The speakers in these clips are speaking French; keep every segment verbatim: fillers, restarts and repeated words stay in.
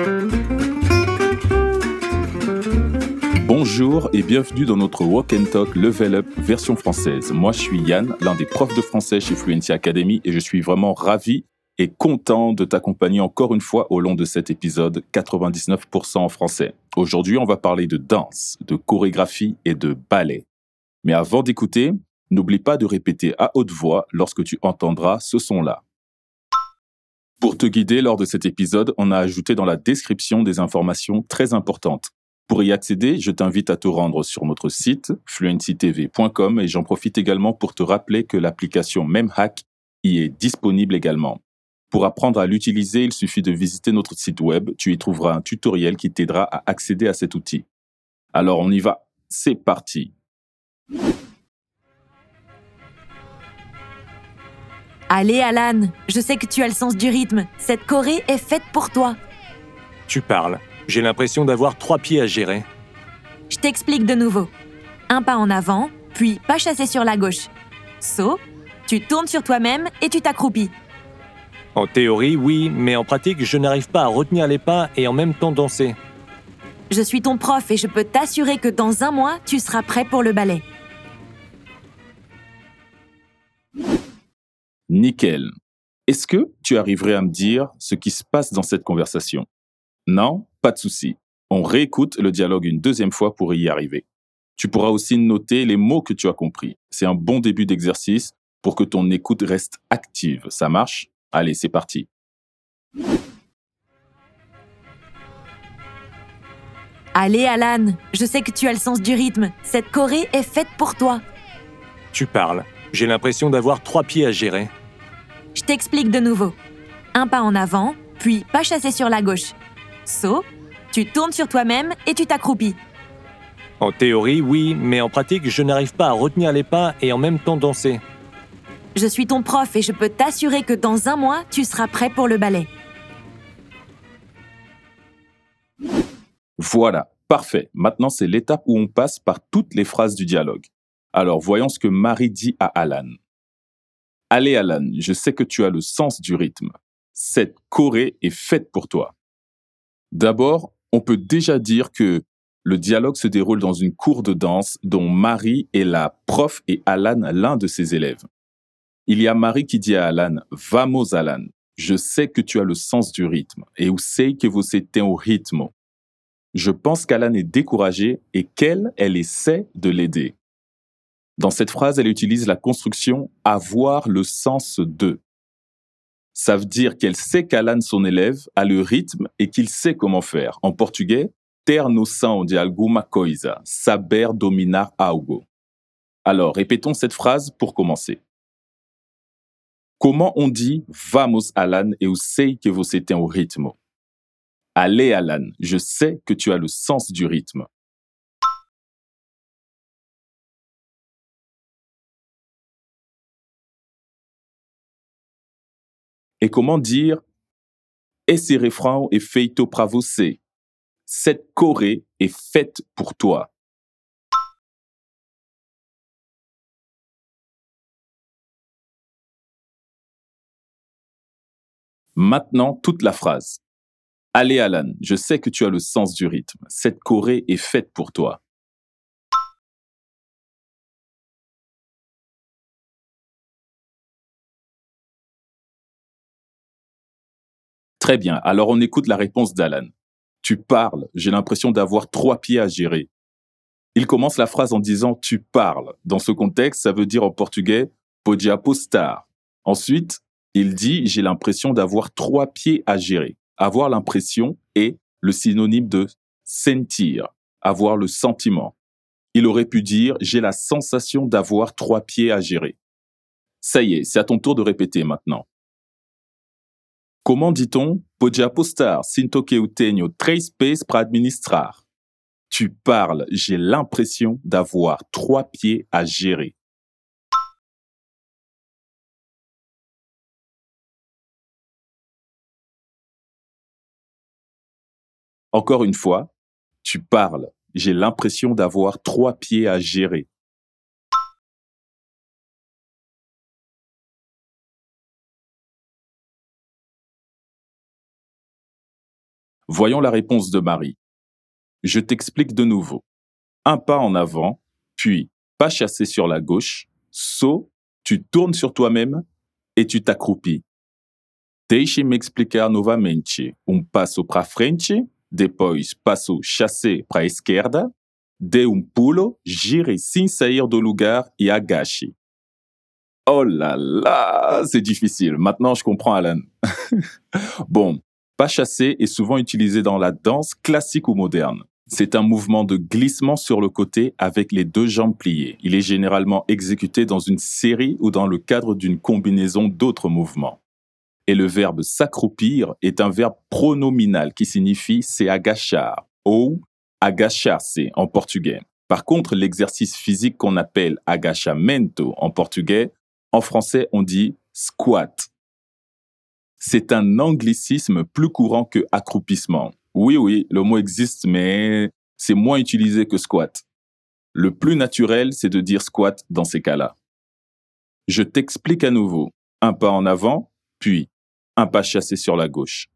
Bonjour et bienvenue dans notre Walk and Talk Level Up version française. Moi, je suis Yann, l'un des profs de français chez Fluency Academy et je suis vraiment ravi et content de t'accompagner encore une fois au long de cet épisode quatre-vingt-dix-neuf pour cent en français. Aujourd'hui, on va parler de danse, de chorégraphie et de ballet. Mais avant d'écouter, n'oublie pas de répéter à haute voix lorsque tu entendras ce son-là. Pour te guider lors de cet épisode, on a ajouté dans la description des informations très importantes. Pour y accéder, je t'invite à te rendre sur notre site fluency t v point com et j'en profite également pour te rappeler que l'application MemHack y est disponible également. Pour apprendre à l'utiliser, il suffit de visiter notre site web. Tu y trouveras un tutoriel qui t'aidera à accéder à cet outil. Alors on y va, c'est parti. Allez Alan, je sais que tu as le sens du rythme. Cette choré est faite pour toi. Tu parles. J'ai l'impression d'avoir trois pieds à gérer. Je t'explique de nouveau. Un pas en avant, puis pas chassé sur la gauche. Saut, tu tournes sur toi-même et tu t'accroupis. En théorie, oui, mais en pratique, je n'arrive pas à retenir les pas et en même temps danser. Je suis ton prof et je peux t'assurer que dans un mois, tu seras prêt pour le ballet. Nickel. Est-ce que tu arriverais à me dire ce qui se passe dans cette conversation ? Non ? Pas de souci. On réécoute le dialogue une deuxième fois pour y arriver. Tu pourras aussi noter les mots que tu as compris. C'est un bon début d'exercice pour que ton écoute reste active. Ça marche ? Allez, c'est parti. Allez Alan, je sais que tu as le sens du rythme. Cette choré est faite pour toi. Tu parles. J'ai l'impression d'avoir trois pieds à gérer. Je t'explique de nouveau. Un pas en avant, puis pas chassé sur la gauche. Saut, tu tournes sur toi-même et tu t'accroupis. En théorie, oui, mais en pratique, je n'arrive pas à retenir les pas et en même temps danser. Je suis ton prof et je peux t'assurer que dans un mois, tu seras prêt pour le ballet. Voilà, parfait. Maintenant, c'est l'étape où on passe par toutes les phrases du dialogue. Alors, voyons ce que Marie dit à Alan. Allez Alan, je sais que tu as le sens du rythme. Cette choré est faite pour toi. D'abord, on peut déjà dire que le dialogue se déroule dans une cour de danse dont Marie est la prof et Alan l'un de ses élèves. Il y a Marie qui dit à Alan « Vamos Alan, je sais que tu as le sens du rythme et eu sei que você tem o ritmo ». Je pense qu'Alan est découragé et qu'elle, elle essaie de l'aider. Dans cette phrase, elle utilise la construction « avoir le sens de ». Ça veut dire qu'elle sait qu'Alan, son élève, a le rythme et qu'il sait comment faire. En portugais, ter noção de alguma coisa, saber dominar algo. Alors, répétons cette phrase pour commencer. Comment on dit « Vamos, Alan, eu sei que você tem o ritmo ». Allez, Alan, je sais que tu as le sens du rythme. Et comment dire « Esse refrão é feito pra você ». Cette choré est faite pour toi. Maintenant, toute la phrase. Allez Alan, je sais que tu as le sens du rythme. Cette choré est faite pour toi. Très bien, alors on écoute la réponse d'Alan. Tu parles, j'ai l'impression d'avoir trois pieds à gérer. Il commence la phrase en disant « tu parles ». Dans ce contexte, ça veut dire en portugais « pode apostar ». Ensuite, il dit « j'ai l'impression d'avoir trois pieds à gérer ». Avoir l'impression est le synonyme de sentir, avoir le sentiment. Il aurait pu dire « j'ai la sensation d'avoir trois pieds à gérer ». Ça y est, c'est à ton tour de répéter maintenant. Comment dit-on « pode apostar, sinto que eu tenho três pés para administrar ». Tu parles, j'ai l'impression d'avoir trois pieds à gérer. Encore une fois, tu parles, j'ai l'impression d'avoir trois pieds à gérer. Voyons la réponse de Marie. Je t'explique de nouveau. Un pas en avant, puis pas chassé sur la gauche, saut, tu tournes sur toi-même et tu t'accroupis. Deixe-me explicar novamente. Um passo para frente, depois passo chassé para a esquerda, dê um pulo, gire sem sair do lugar e agache. Oh là là, c'est difficile. Maintenant, je comprends Alan. Bon, pas chassé est souvent utilisé dans la danse classique ou moderne. C'est un mouvement de glissement sur le côté avec les deux jambes pliées. Il est généralement exécuté dans une série ou dans le cadre d'une combinaison d'autres mouvements. Et le verbe s'accroupir est un verbe pronominal qui signifie se agachar ou agachar-se en portugais. Par contre, l'exercice physique qu'on appelle agachamento en portugais, en français on dit squat. C'est un anglicisme plus courant que accroupissement. Oui, oui, le mot existe, mais c'est moins utilisé que squat. Le plus naturel, c'est de dire squat dans ces cas-là. Je t'explique à nouveau. Un pas en avant, puis un pas chassé sur la gauche.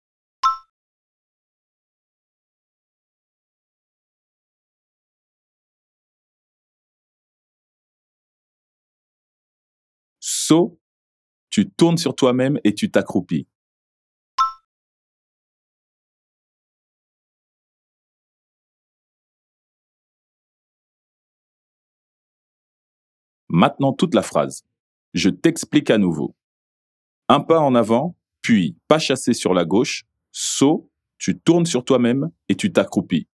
Saut, tu tournes sur toi-même et tu t'accroupis. Maintenant toute la phrase. Je t'explique à nouveau. Un pas en avant, puis pas chassé sur la gauche, saut, tu tournes sur toi-même et tu t'accroupis.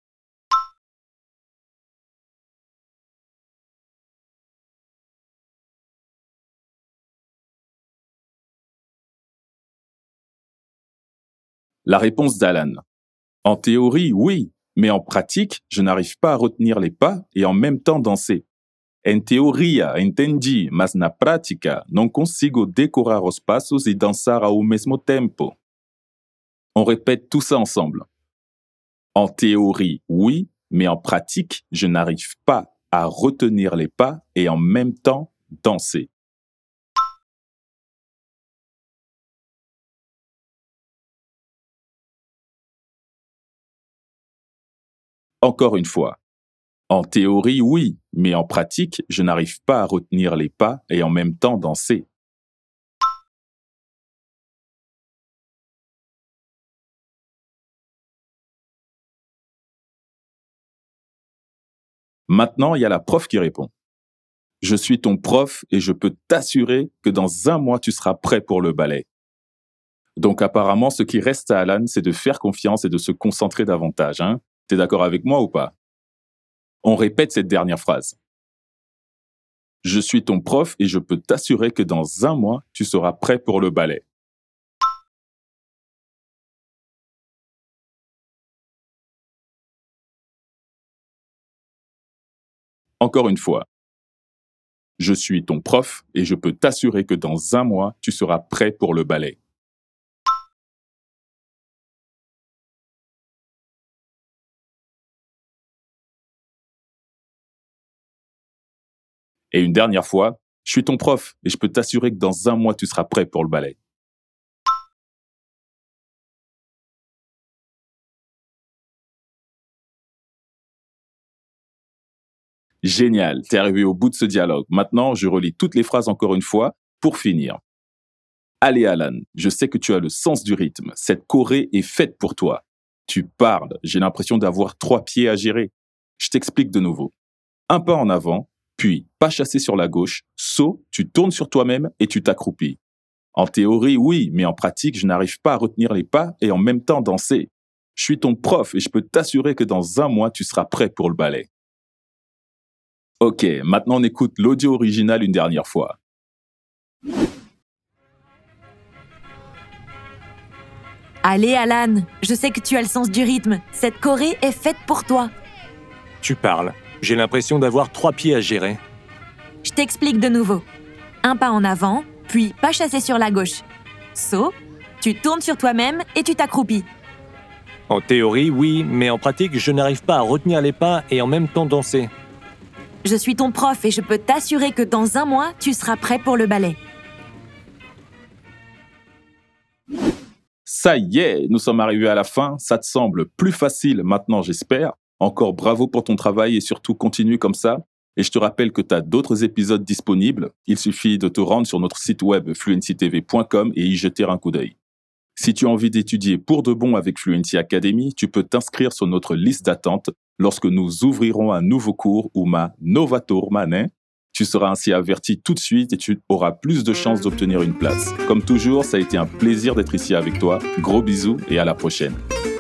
La réponse d'Alan. En théorie, oui, mais en pratique, je n'arrive pas à retenir les pas et en même temps danser. En teoria, entendi, mas na prática, não consigo decorar os passos e dançar ao mesmo tempo. On répète tout ça ensemble. En théorie, oui, mais en pratique, je n'arrive pas à retenir les pas et en même temps danser. Encore une fois. En théorie, oui, mais en pratique, je n'arrive pas à retenir les pas et en même temps danser. Maintenant, il y a la prof qui répond. Je suis ton prof et je peux t'assurer que dans un mois, tu seras prêt pour le ballet. Donc apparemment, ce qui reste à Alan, c'est de faire confiance et de se concentrer davantage. Hein? T'es d'accord avec moi ou pas? On répète cette dernière phrase. Je suis ton prof et je peux t'assurer que dans un mois, tu seras prêt pour le ballet. Encore une fois. Je suis ton prof et je peux t'assurer que dans un mois, tu seras prêt pour le ballet. Et une dernière fois, je suis ton prof et je peux t'assurer que dans un mois, tu seras prêt pour le ballet. Génial, t'es arrivé au bout de ce dialogue. Maintenant, je relis toutes les phrases encore une fois pour finir. Allez Alan, je sais que tu as le sens du rythme. Cette choré est faite pour toi. Tu parles, j'ai l'impression d'avoir trois pieds à gérer. Je t'explique de nouveau. Un pas en avant, puis pas chassé sur la gauche, saut, tu tournes sur toi-même et tu t'accroupis. En théorie, oui, mais en pratique, je n'arrive pas à retenir les pas et en même temps danser. Je suis ton prof et je peux t'assurer que dans un mois, tu seras prêt pour le ballet. Ok, maintenant on écoute l'audio original une dernière fois. Allez Alan, je sais que tu as le sens du rythme. Cette choré est faite pour toi. Tu parles. J'ai l'impression d'avoir trois pieds à gérer. Je t'explique de nouveau. Un pas en avant, puis pas chassé sur la gauche. Saut, tu tournes sur toi-même et tu t'accroupis. En théorie, oui, mais en pratique, je n'arrive pas à retenir les pas et en même temps danser. Je suis ton prof et je peux t'assurer que dans un mois, tu seras prêt pour le ballet. Ça y est, nous sommes arrivés à la fin. Ça te semble plus facile maintenant, j'espère. Encore bravo pour ton travail et surtout continue comme ça. Et je te rappelle que tu as d'autres épisodes disponibles. Il suffit de te rendre sur notre site web fluency t v point com et y jeter un coup d'œil. Si tu as envie d'étudier pour de bon avec Fluency Academy, tu peux t'inscrire sur notre liste d'attente lorsque nous ouvrirons un nouveau cours ou ma Novatur Manet. Tu seras ainsi averti tout de suite et tu auras plus de chances d'obtenir une place. Comme toujours, ça a été un plaisir d'être ici avec toi. Gros bisous et à la prochaine.